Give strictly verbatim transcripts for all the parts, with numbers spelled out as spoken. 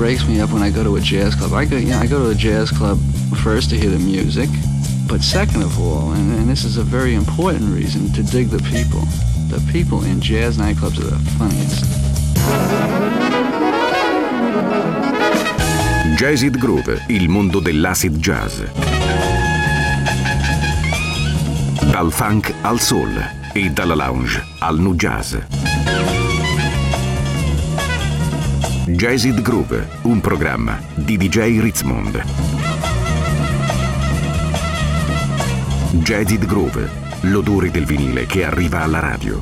breaks me up when I go to a jazz club. I go, you know, I go to a jazz club first to hear the music, but second of all, and, and this is a very important reason, to dig the people. The people in jazz nightclubs are the funniest. Jazzid Groove, il mondo dell'acid jazz. Dal funk al soul e dalla lounge al nu jazz. Jazzid Groove, un programma di D J Ritzmond. Jazzid Groove, l'odore del vinile che arriva alla radio.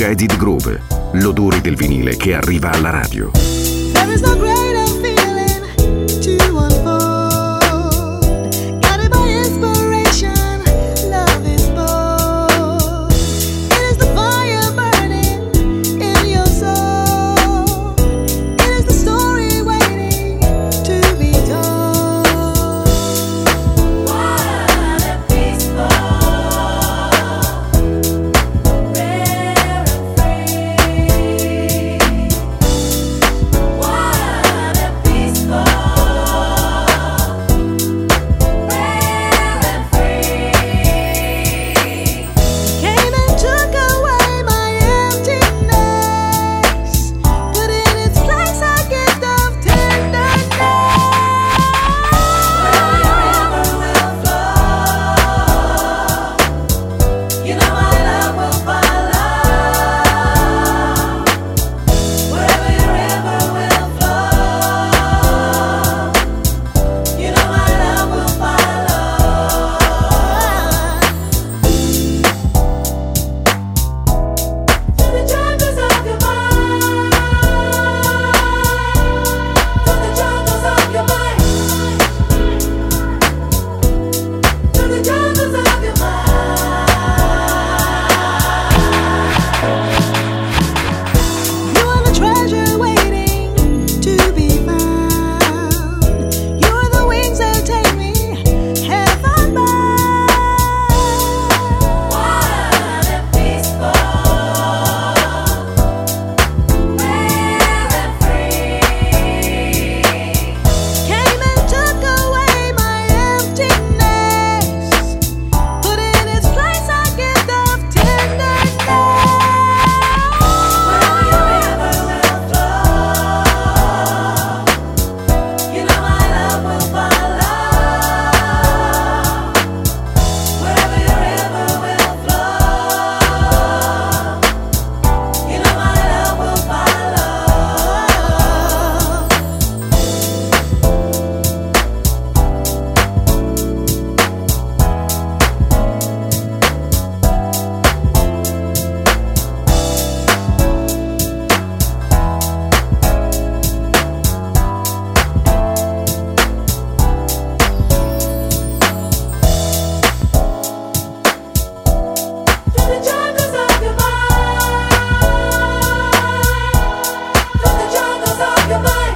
Jazzed Groove, l'odore del vinile che arriva alla radio. There is no greater feeling to unfold. Guided by inspiration, love is bold. It is the fire burning in your soul. It is the story waiting to be told. Wild and peaceful, rare and free. Wild and peaceful, rare and free. Came and took away my emptiness, put in its place a gift of tenderness. Wherever your river will flow, you know my love will follow. Wherever your river will flow, you know my love will follow. To the jungles of your mind, to the jungles of your mind, to the jungles of your mind. You are the treasure waiting to be found. You are the wings that take me heaven bound. Wild and peaceful, rare and free. Came and took away my emptiness, put in its place a gift of tenderness. Wherever your river will flow, you know my love will follow. Wherever your river will flow, you know my love will follow. To the jungles of your mind, to the jungles of your mind,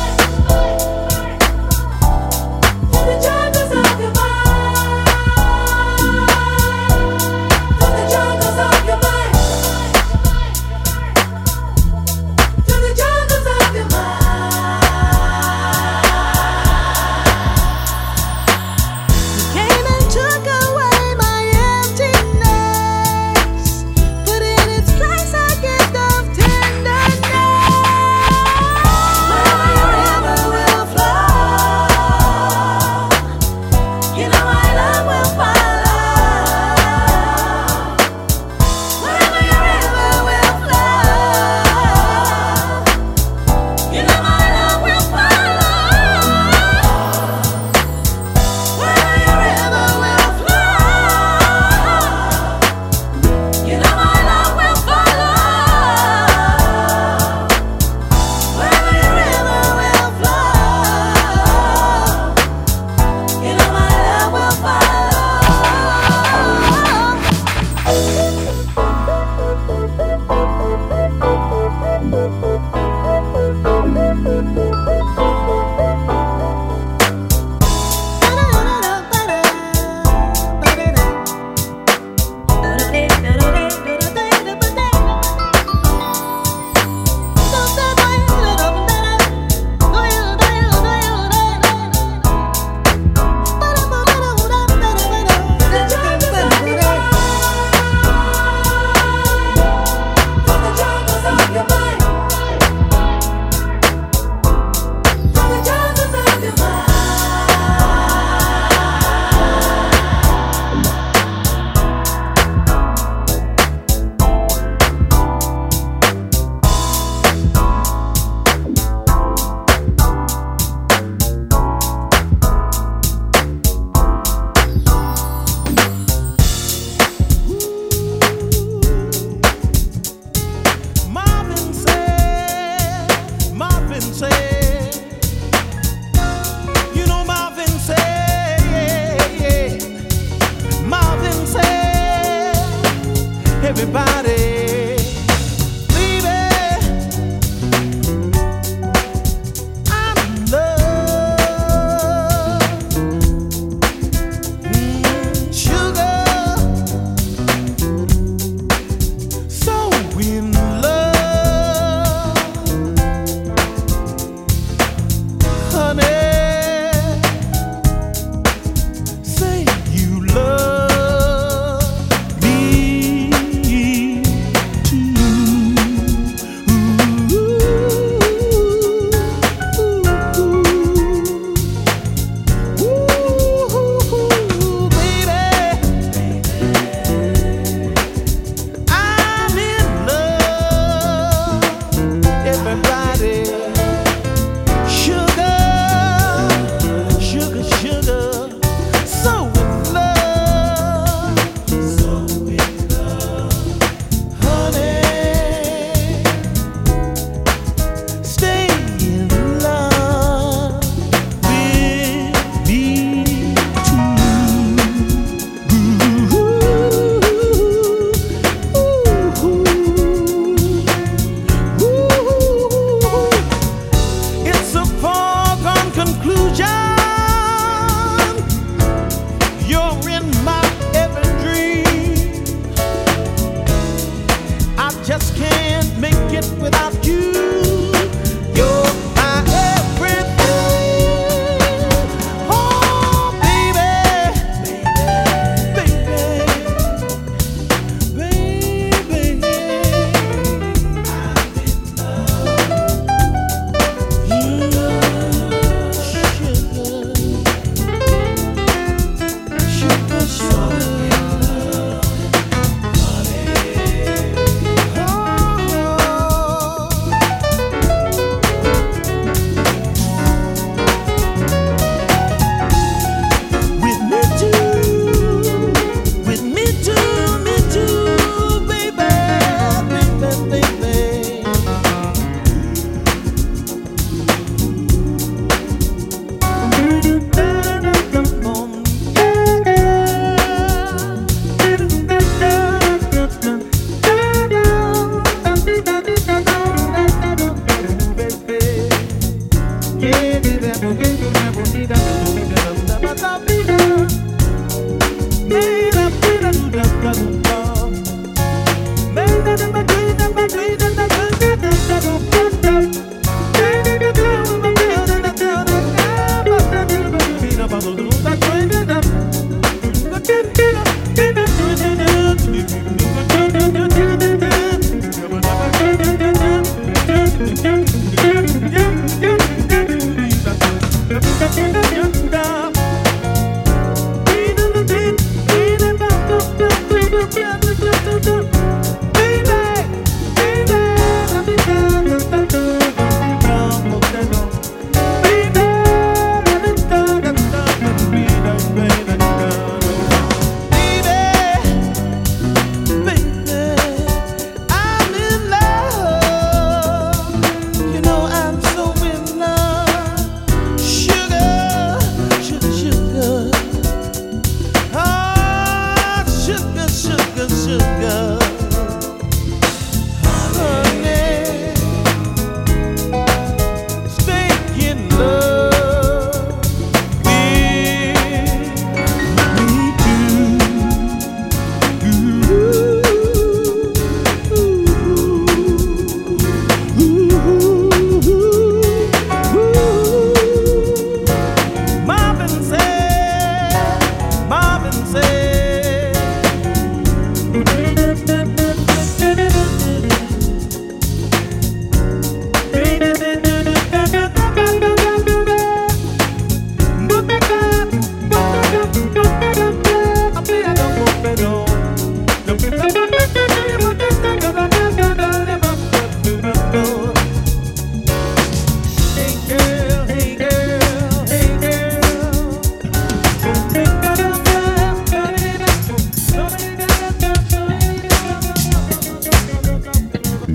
to the jungles of your mind, to the jungles of your mind, to the jungles of your mind. You came and took away my emptiness, put in its place a gift of tenderness. Wherever your river will flow, you know my love will follow. Wherever your river will flow, you know my love will follow. Wherever your river will flow, you know my love will follow. Wherever your river will flow, you know my love will To the jungles of your mind,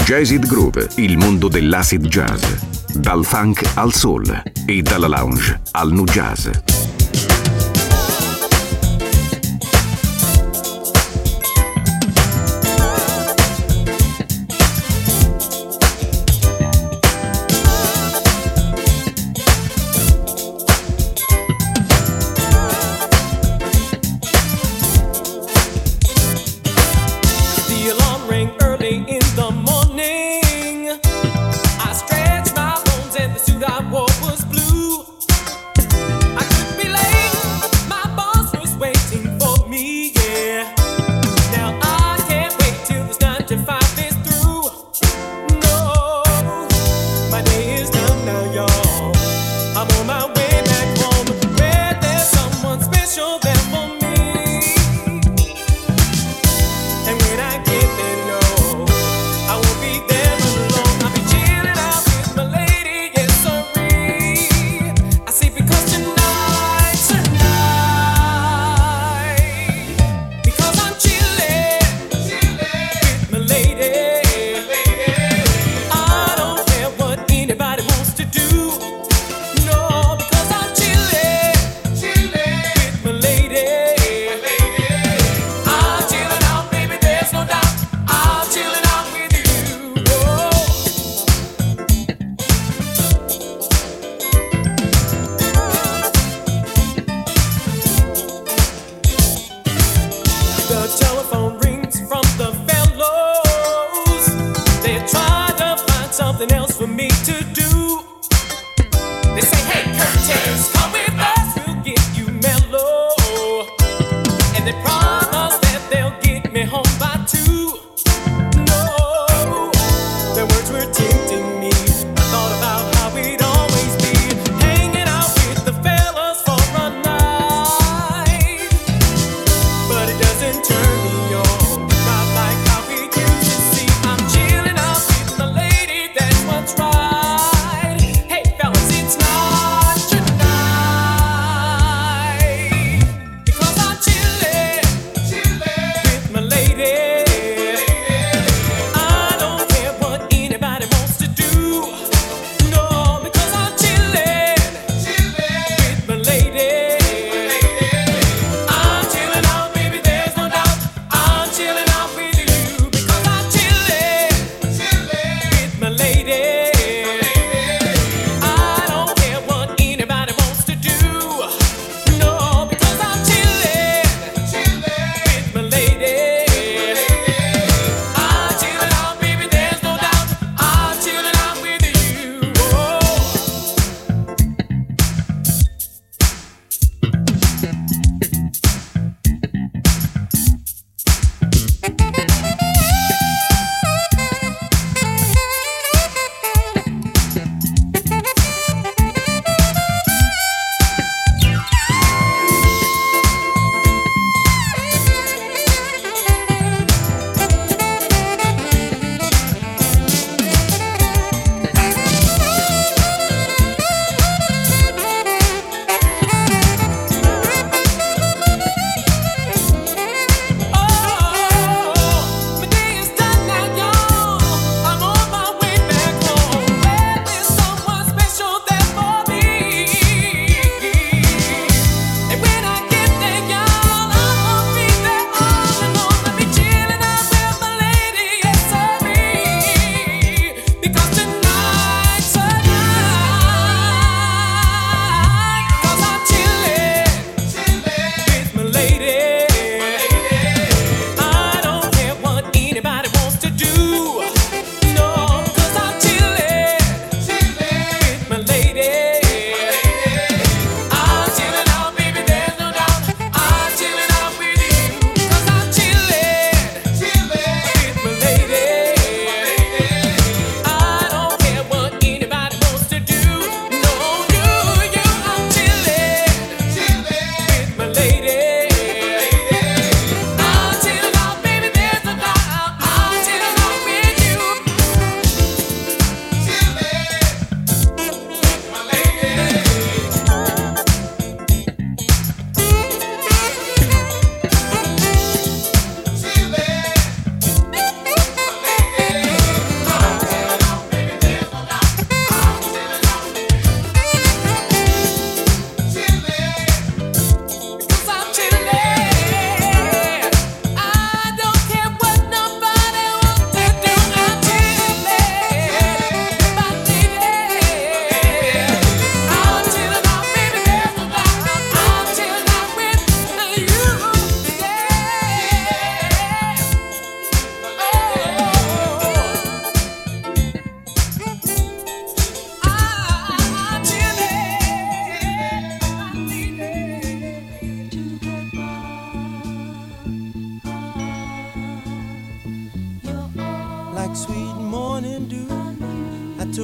Jazzed Groove, il mondo dell'acid jazz. Dal funk al soul e dalla lounge al nu jazz.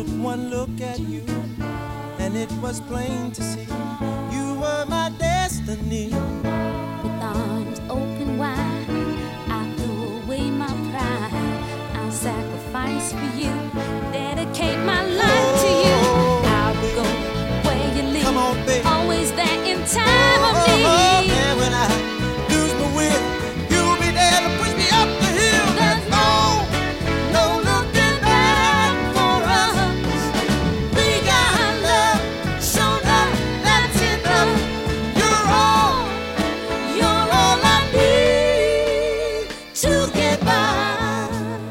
one look at you, and it was plain to see you were my destiny. With arms open wide, I threw away my pride. I'll sacrifice for you, dedicate my life to you. I'll go where you lead, Come on, baby. always there in time of Oh, need. and when I lose my will, you'll be there to push me up the hill. There's no, no looking back for us. We got love, so love, that's enough. You're all, you're all I need to get by.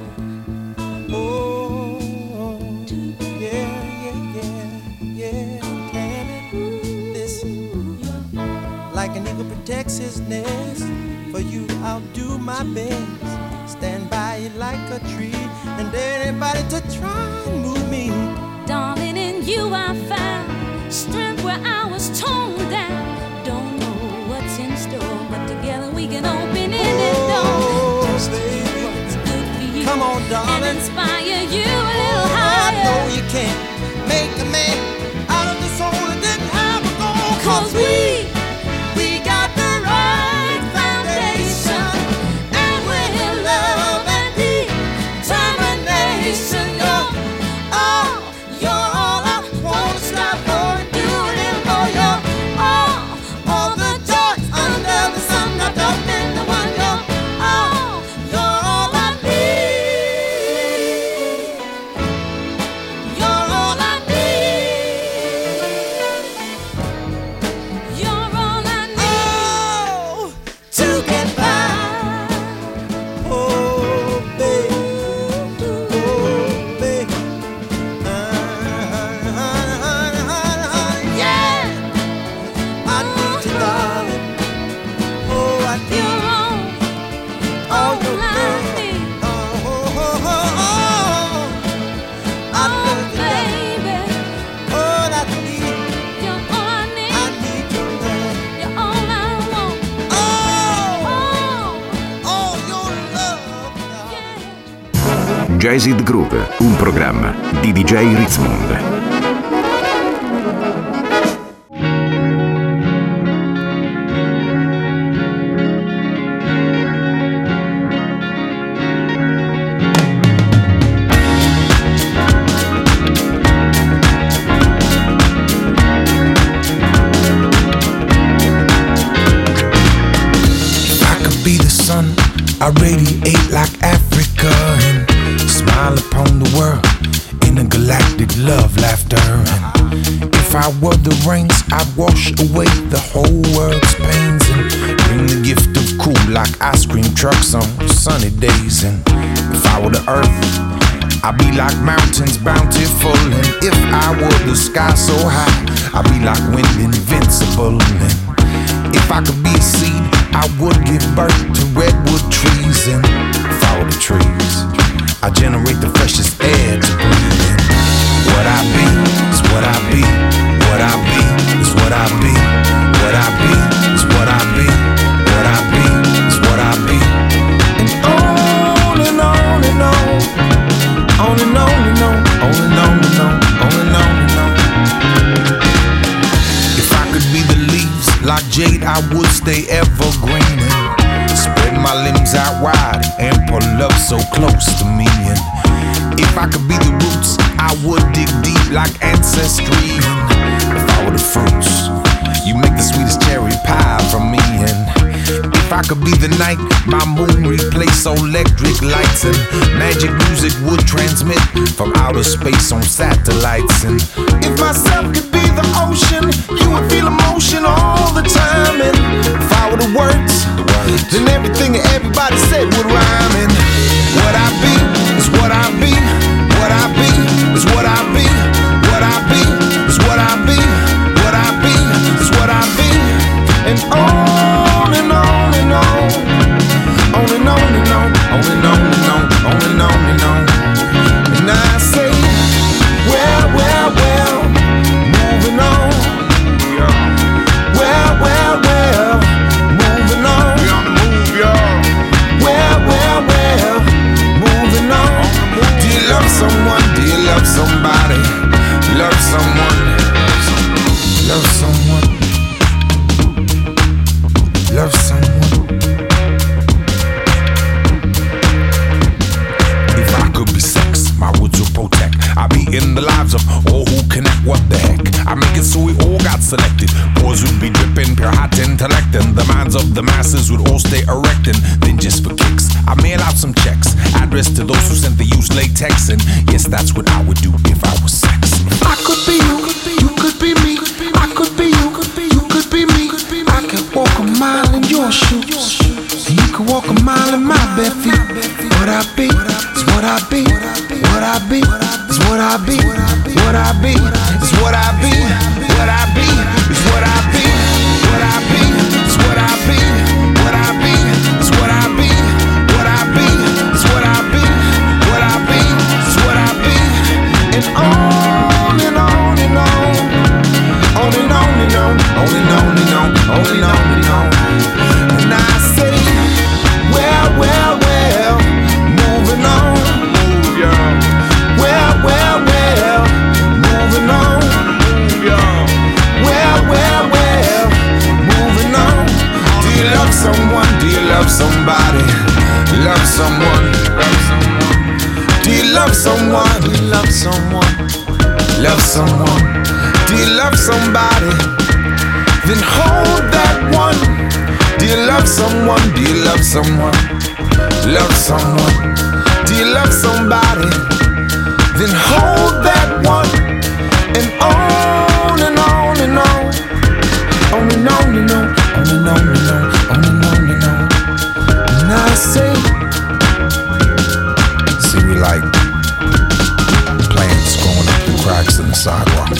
Oh, yeah, yeah, yeah, yeah. Damn it, listen. Like an eagle protects his nest, for you I'll do my best. Stand by you like a tree, and dare anybody to try and move me. Darling, in you I found strength where I was torn down. Don't know what's in store, but together we can open any door. Oh, Just do baby. what's good for you, Come on, and darling. inspire you a little I higher. know you can't make a man out of the soul that didn't have a goal. Cause we, we got the right foundation, and we're love and determination. You're all, you're all I wanna stop for and do a little more. You're all, all the joys under the sun wrapped up in the one. You're all, you're all I need. You're all I need. You're all I need. Oh, to get by. Oh, baby. Oh, baby. Uh, yeah. I need you, darling. Oh, I need You're all, all all your I love. need. Oh, oh, oh, oh, oh. I Oh, love you, darling. baby, All I need, you're all I I need. need your love. You're all I want. Oh, Oh, oh, your love. yeah. Jazzed Groove, un programma di D J Ritzmond. If I could be the sun, I radiate like Africa and smile upon the world in a galactic love laughter. And if I were the rains, I'd wash away the whole world's pains and bring the gift of cool like ice cream trucks on sunny days. And if I were the earth, I'd be like mountains bountiful. And if I were the sky so high, I'd be like wind invincible. And if I could be a seed, I would give birth to redwood trees. And if I were the trees, I generate the freshest air to breathe in. What I be is what I be. What I be is what I be. What I be is what I be. What I be is what I be. And on and on and on. On and on and on. On and on and on. On and on and on. If I could be the leaves like jade, I would stay evergreen and spread my limbs out wide and pull up so close to me. And if I could be the roots, I would dig deep like ancestry. And if I were the fruits, you make the sweetest cherry pie for me. And if I could be the night, my moon replace electric lights, and magic music would transmit from outer space on satellites. And if myself could be the ocean, you would feel emotion all the time. And if I were the words, then everything that everybody said would rhyme. And what I be is what I be. What I be is what I be. What I be is what I be. What I be is what I be. And on and on and on. On and on and on. On and on and on. On and on and on. And I say, well, well, well, moving on. Well, well, well, moving on. We on the move, y'all. Well, well, well, moving on. Do you love someone? Do you love somebody? be in the lives of all who connect. What the heck? I make it so we all got selected. Boys would be dripping pure hot intellect, and the minds of the masses would all stay erect. And then just for kicks, I mail out some checks, addressed to those who sent the used latex. And yes, that's what I would do if I was sex. I could be you, you could be me. I could be you, you could be me. I could walk a mile in your shoes, and you could walk a mile in my bare feet. What I be is what I be. What I be is what I be. What I be is what I be. What I be is what I be. What I be is what I be. What I be is what I be. What I be is what I be. What I be is what I be. And on and on and on. On and on and on. On and on and on. On and on and on. And I say, well, well, well, moving on. Move, y'all. Well, well, well, moving on. Move, y'all. Well, well, well, moving on. Do you love someone? Do you love somebody? Love someone. Love someone. Do you love someone? Do you love someone? Love someone. Do you love somebody? Then hold that one. Do you love someone? Do you love someone? Love someone. Do you love somebody? Then hold that one. And on and on and on. On and on and on. On and on and on. On and on and on. And I say, see, we like plants going up the cracks in the sidewalk.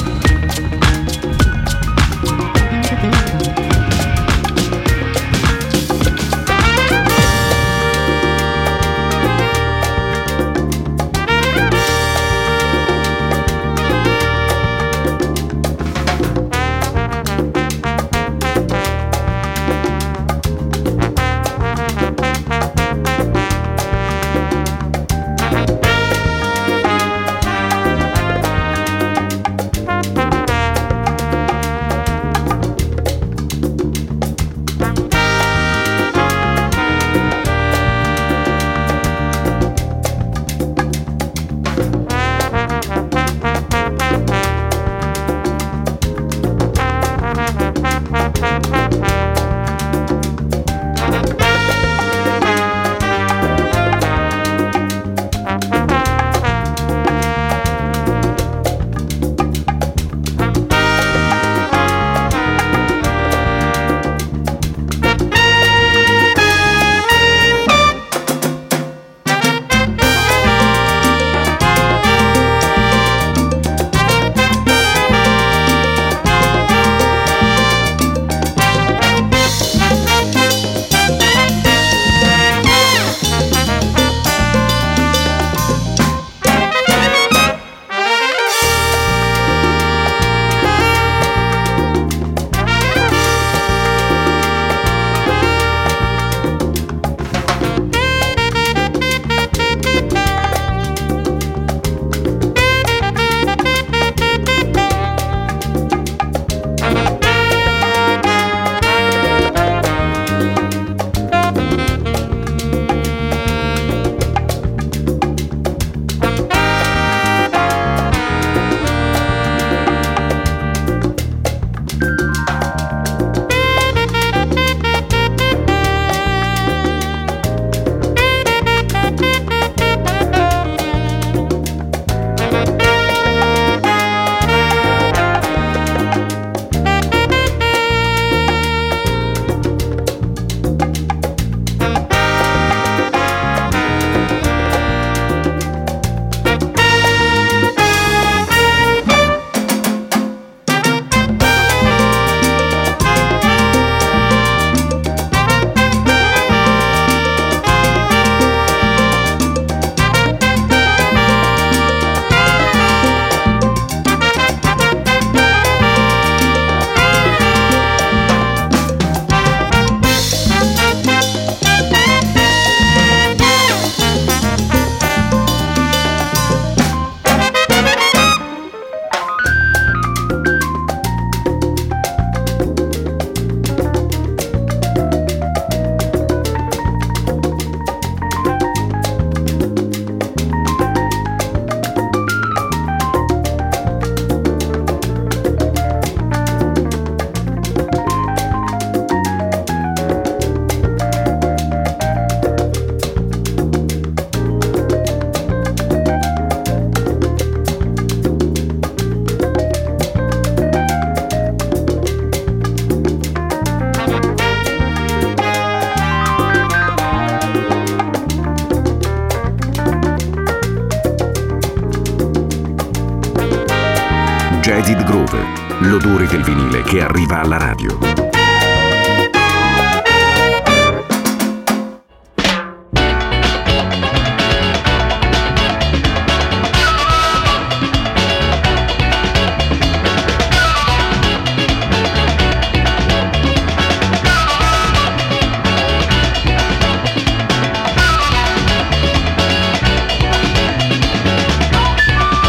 Jaded Groove, l'odore del vinile che arriva alla radio.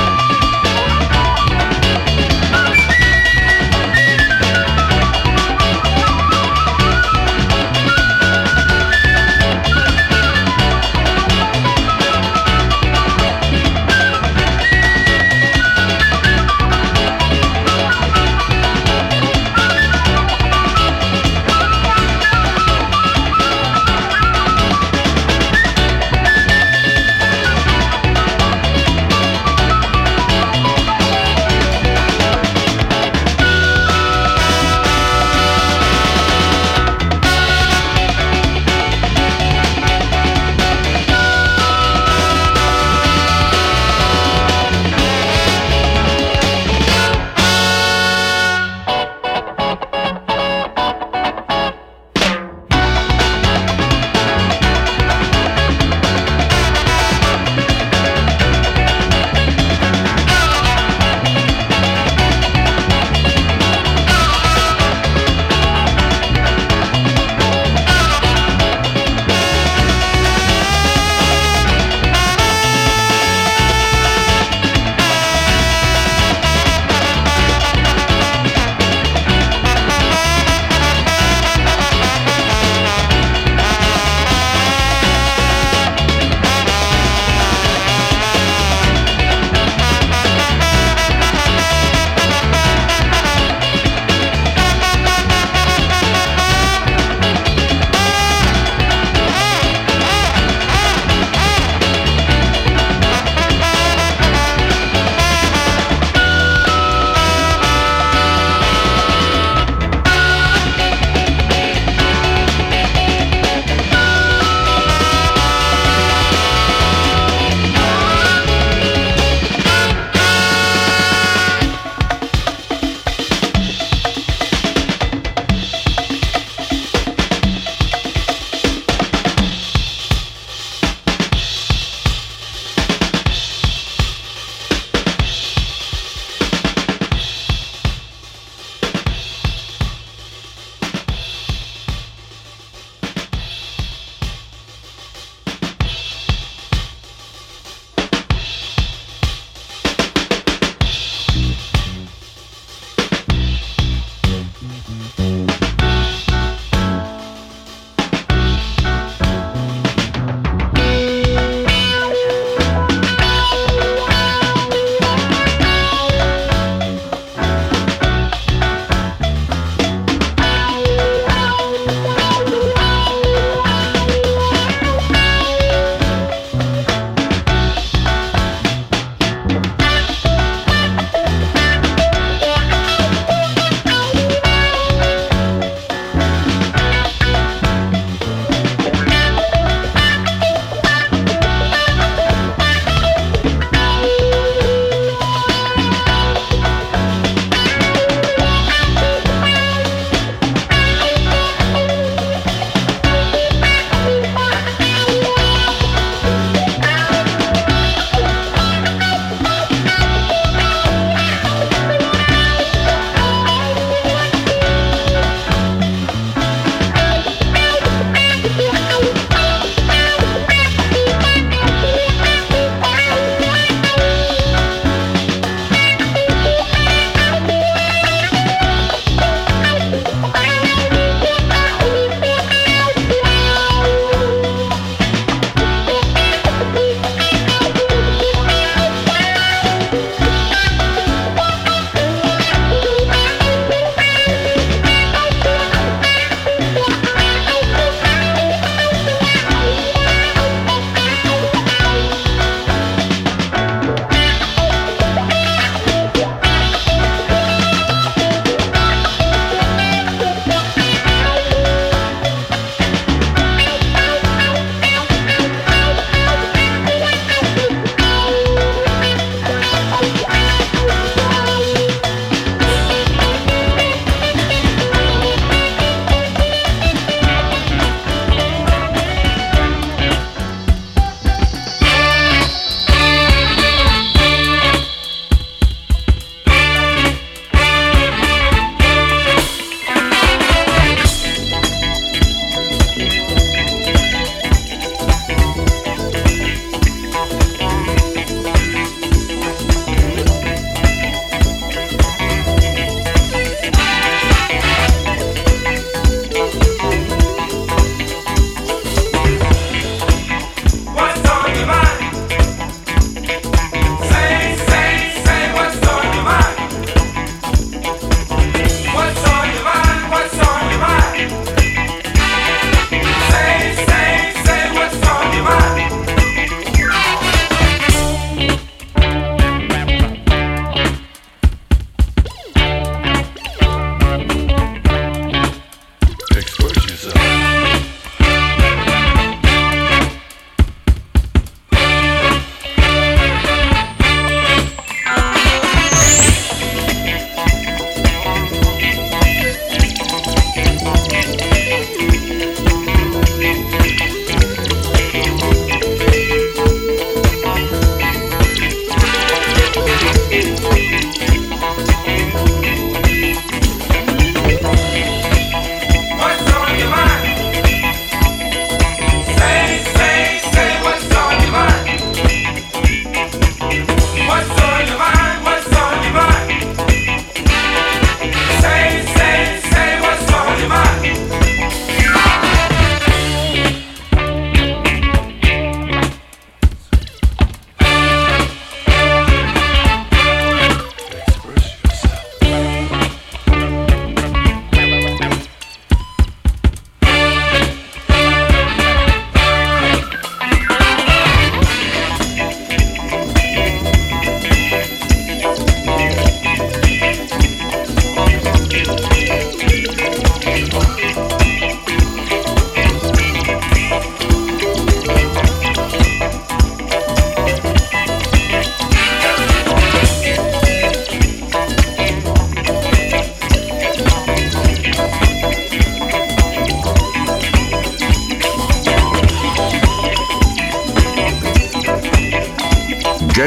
Thank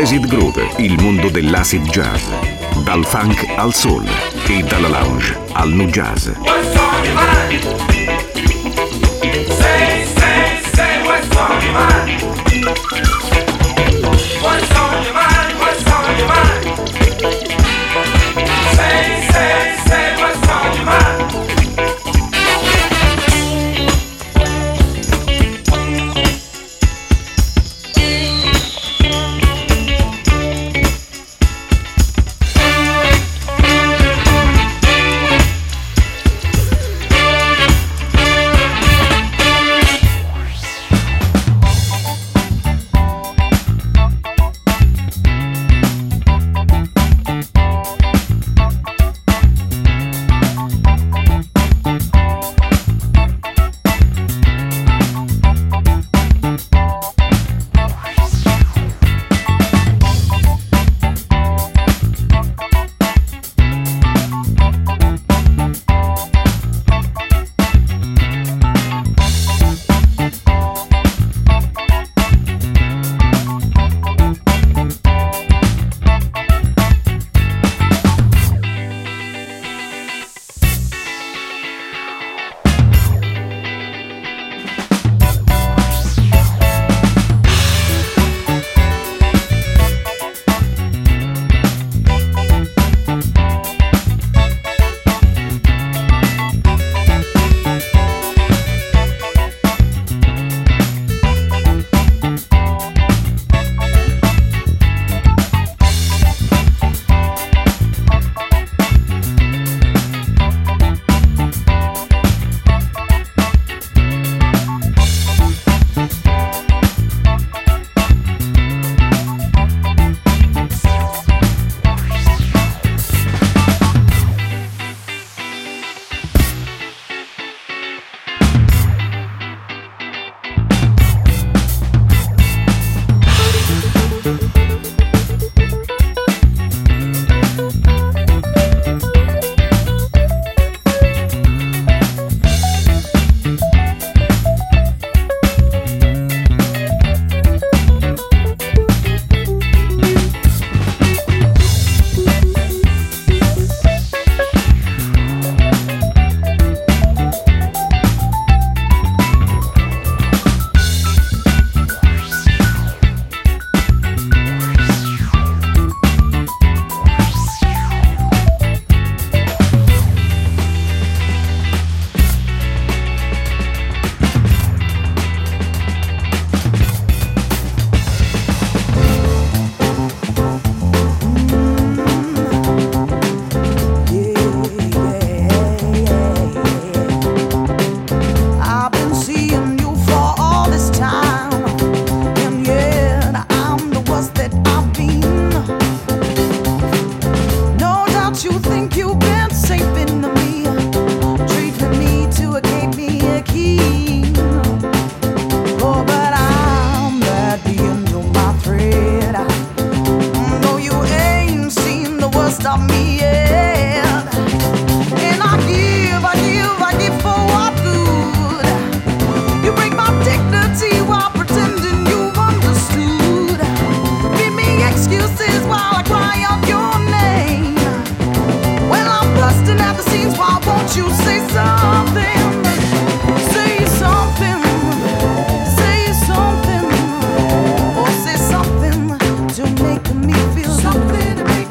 L'acid Groove, il mondo dell'acid jazz. Dal funk al soul e dalla lounge al nu jazz. What's on your mind? Say, say, say what's on your mind. What's on your mind? What's on your mind? Say, say, say what's on your mind.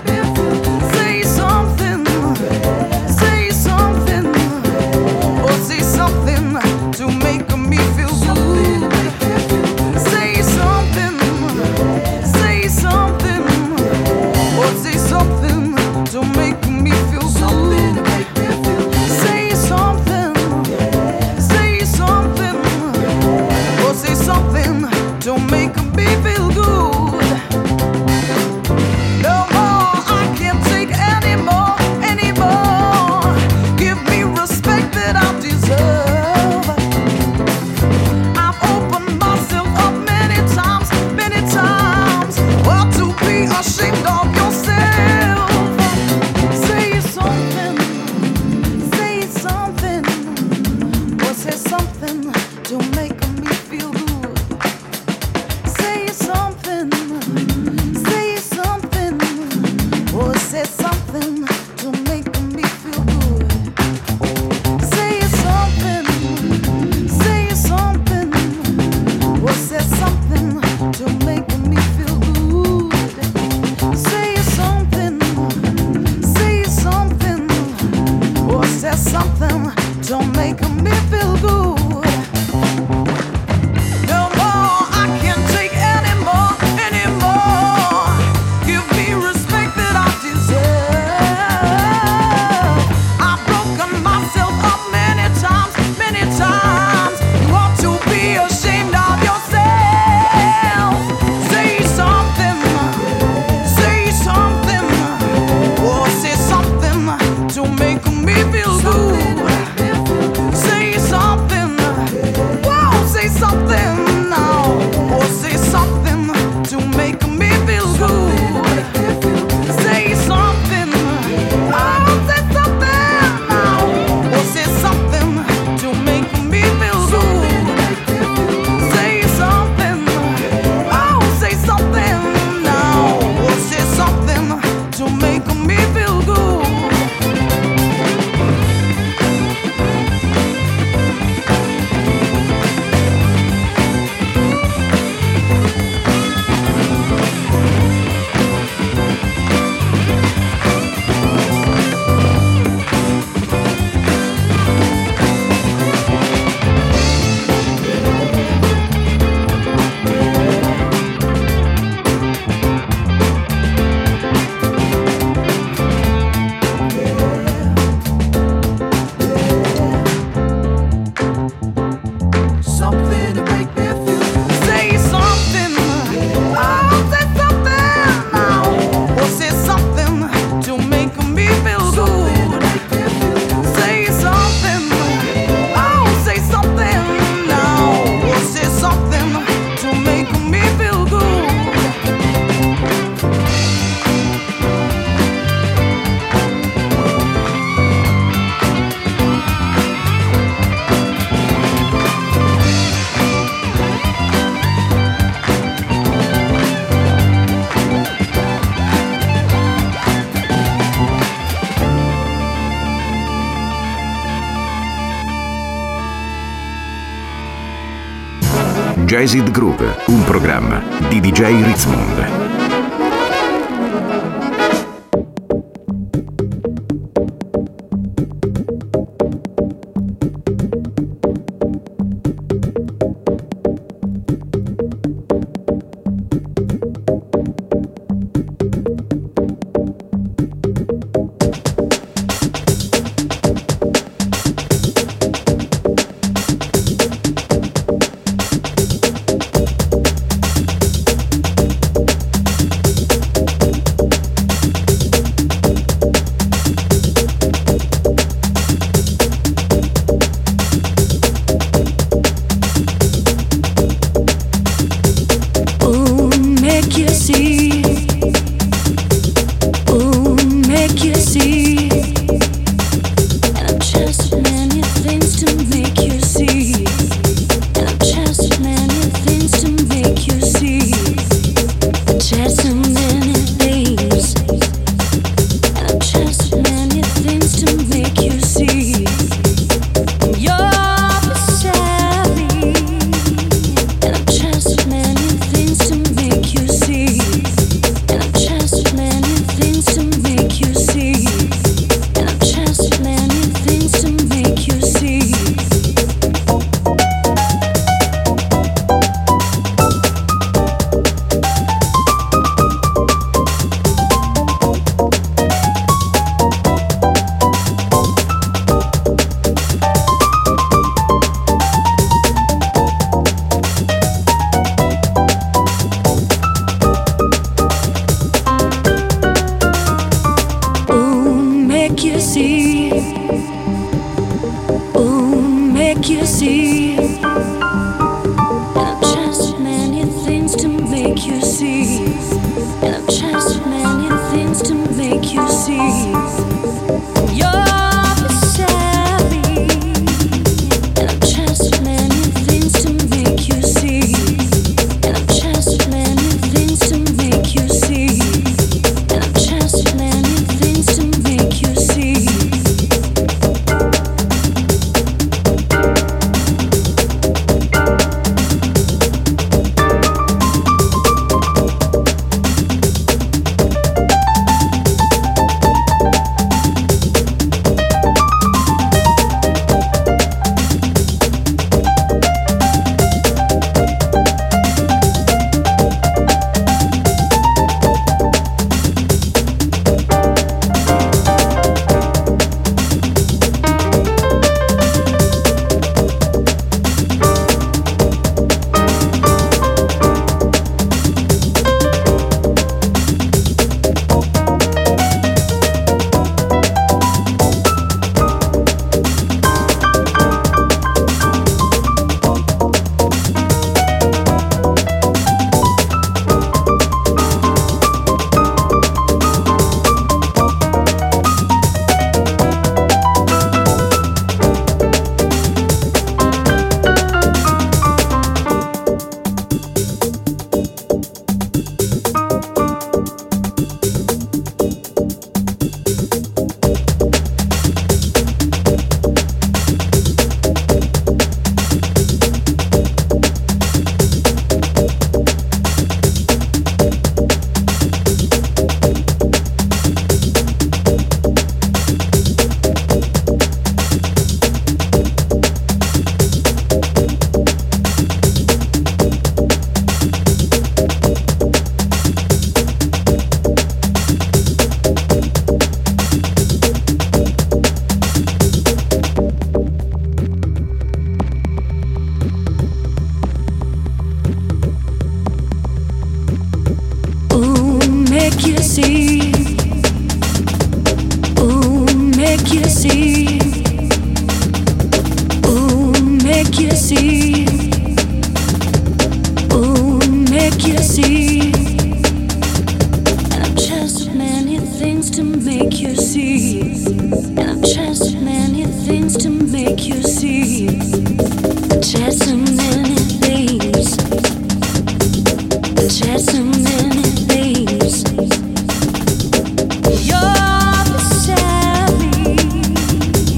Say something. Jazzed Groove, un programma di D J Ritzmond.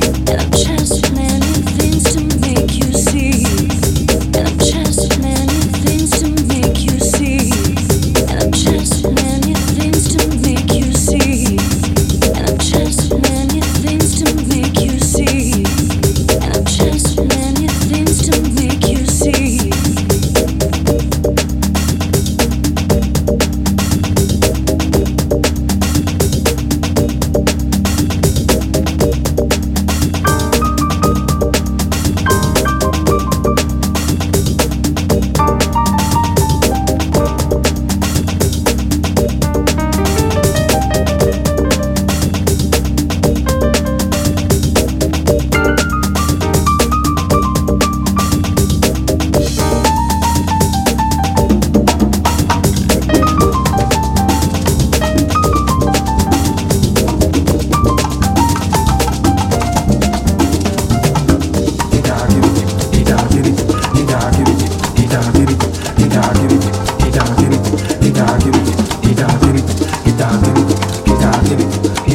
Just many things to make you see, and I'm just many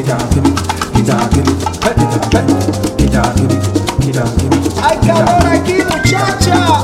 Hay calor aquí, muchacha.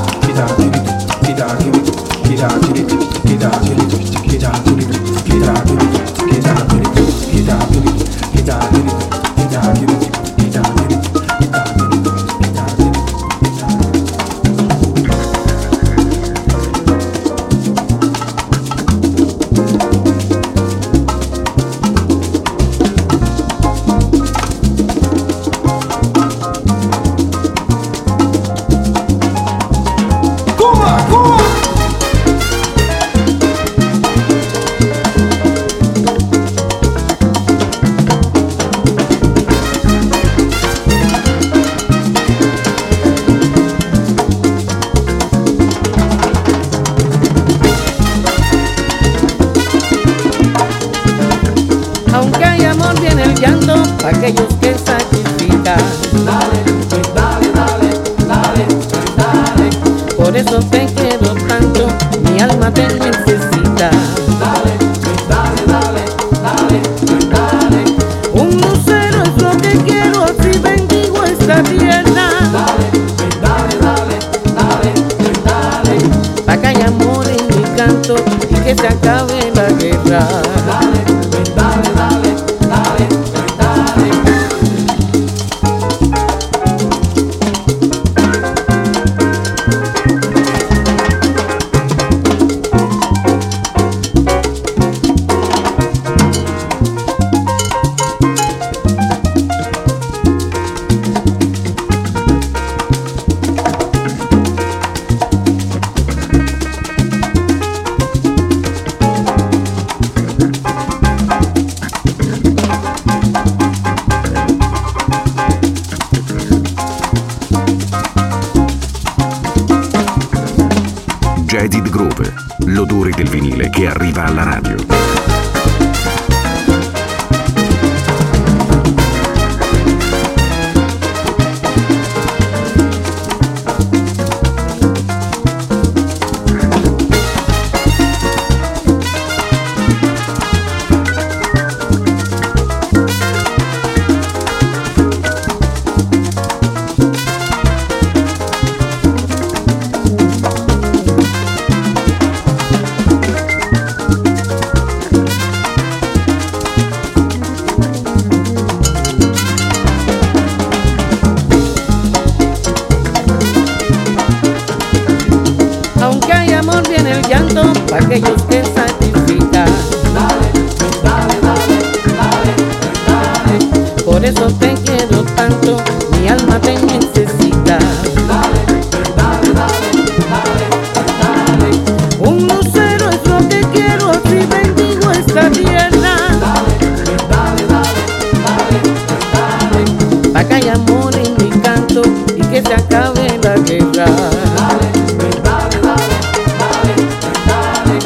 Aunque hay amor viene el llanto para aquellos que sacrifican. Dale, pues dale, dale, dale, pues dale. Por eso te quiero tanto, mi alma te necesita. Dale, pues dale, dale, dale, pues dale. Un lucero es lo que quiero, así bendigo esta tierra. Dale, pues dale, dale, dale, pues dale. Pa' que haya amor en mi canto y que se acabe la guerra. Dale, pues dale, dale, dale, pues dale. Jaded Groove, l'odore del vinile che arriva alla radio. Aunque hay amor viene el llanto para aquellos que sacrifican. Dale, pues dale, dale, dale, pues dale. Por eso te quiero tanto, mi alma te necesita. Dale, pues dale, dale, dale, pues dale. Un lucero es lo que quiero, así bendigo esta tierra. Dale, pues dale, dale, dale, pues dale. Pa' que haya amor en mi canto y que se acabe la guerra. Dale, pues dale, dale, dale, pues dale.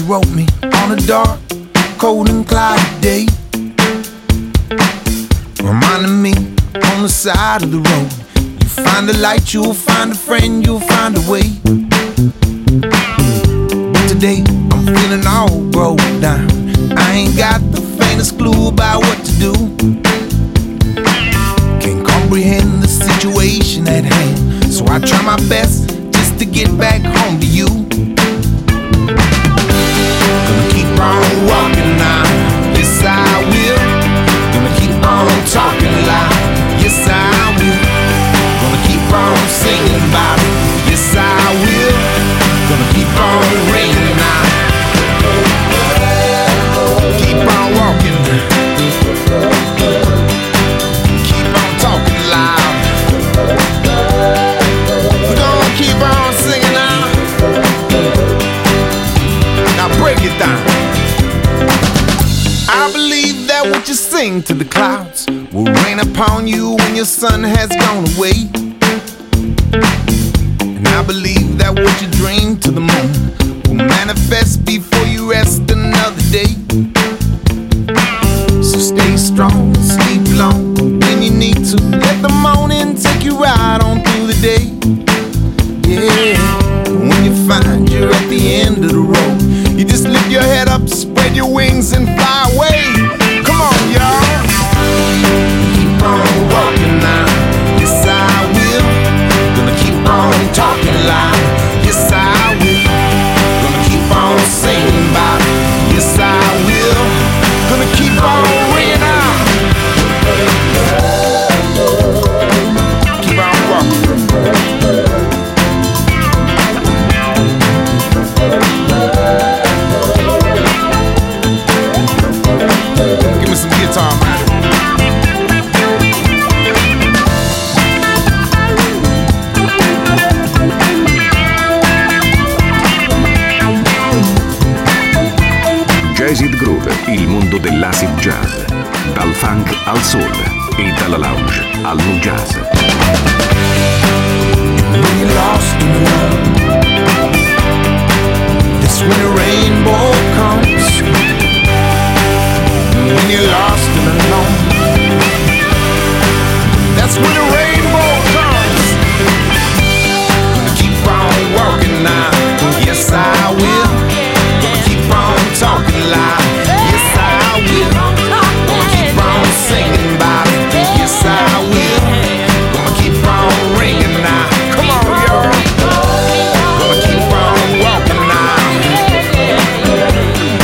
wrote me on a dark, cold and cloudy day, reminding me on the side of the road, you find a light, you'll find a friend, you'll find a way. But today I'm feeling all broke down, I ain't got the faintest clue about what to do. Can't comprehend the situation at hand, so I try my best just to get back home to you. Gonna keep on walking now, yes I will. Gonna keep on talking loud, yes I will. Gonna keep on singing about it, yes I will. Gonna keep on ringing now. Keep on walking, keep on talking loud. We're gonna keep on singing now. Now break it down. I believe that what you sing to the clouds will rain upon you when your sun has gone away. And I believe that what you dream to the moon will manifest before you rest another day. So stay strong, sleep long when you need to. Let the morning take you right on through the day. Yeah, when you find you're at the end of the road, you just lift your head up, spread your wings and fly away. Come on, y'all. Keep on walking now, yes I will. Gonna keep on talking loud, yes I will. Gonna keep on singing about it, yes I will. Gonna keep on ringing out. Keep on walking. Give me some guitar, man. Jazz It Groove, il mondo dell'acid jazz, dal funk al soul e dalla lounge al nu jazz. When you're lost and alone, that's when a rainbow comes. When you're lost and alone, that's when a rainbow comes. Gonna keep on walking now, yes I will. Gonna keep on talking loud, yes I will. Gonna keep on singing about it, yes I will. Gonna keep on ringing now, come on y'all. Gonna keep on walking now.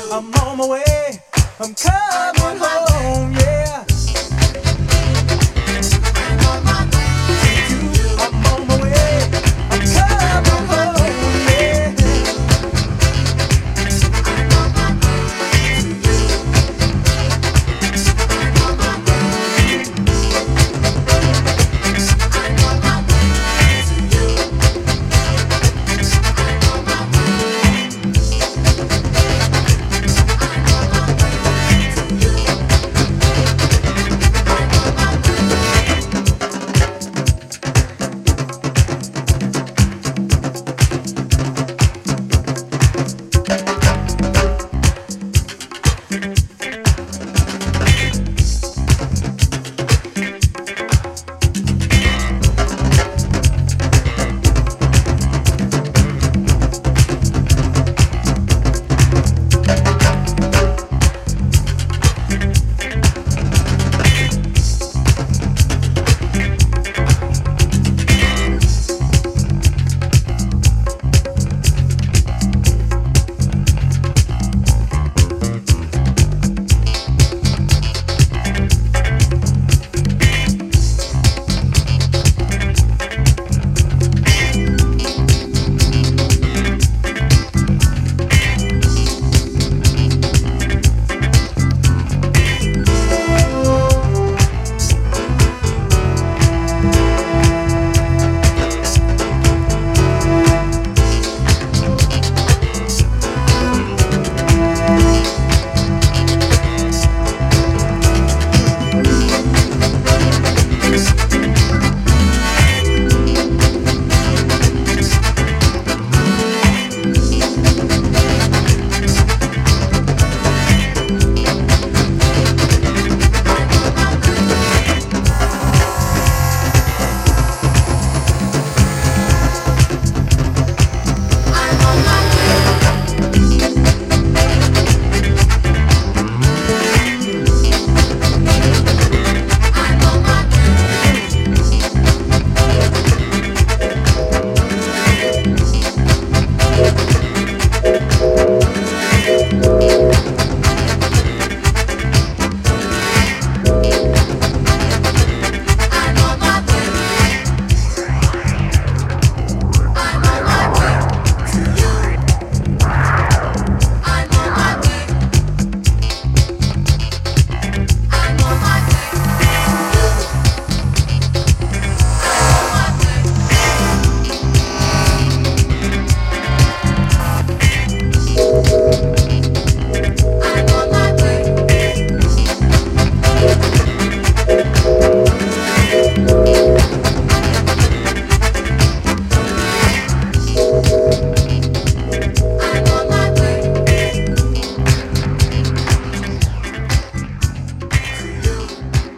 I'm on my way. I'm coming home, yeah. I'm on my way. I'm on my way. I'm coming home, yeah. I'm on my way to you. I'm on my way. I'm on my way to you. I'm on my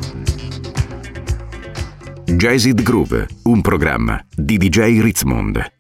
Jazzed Groove, un programma di D J Ritzmond.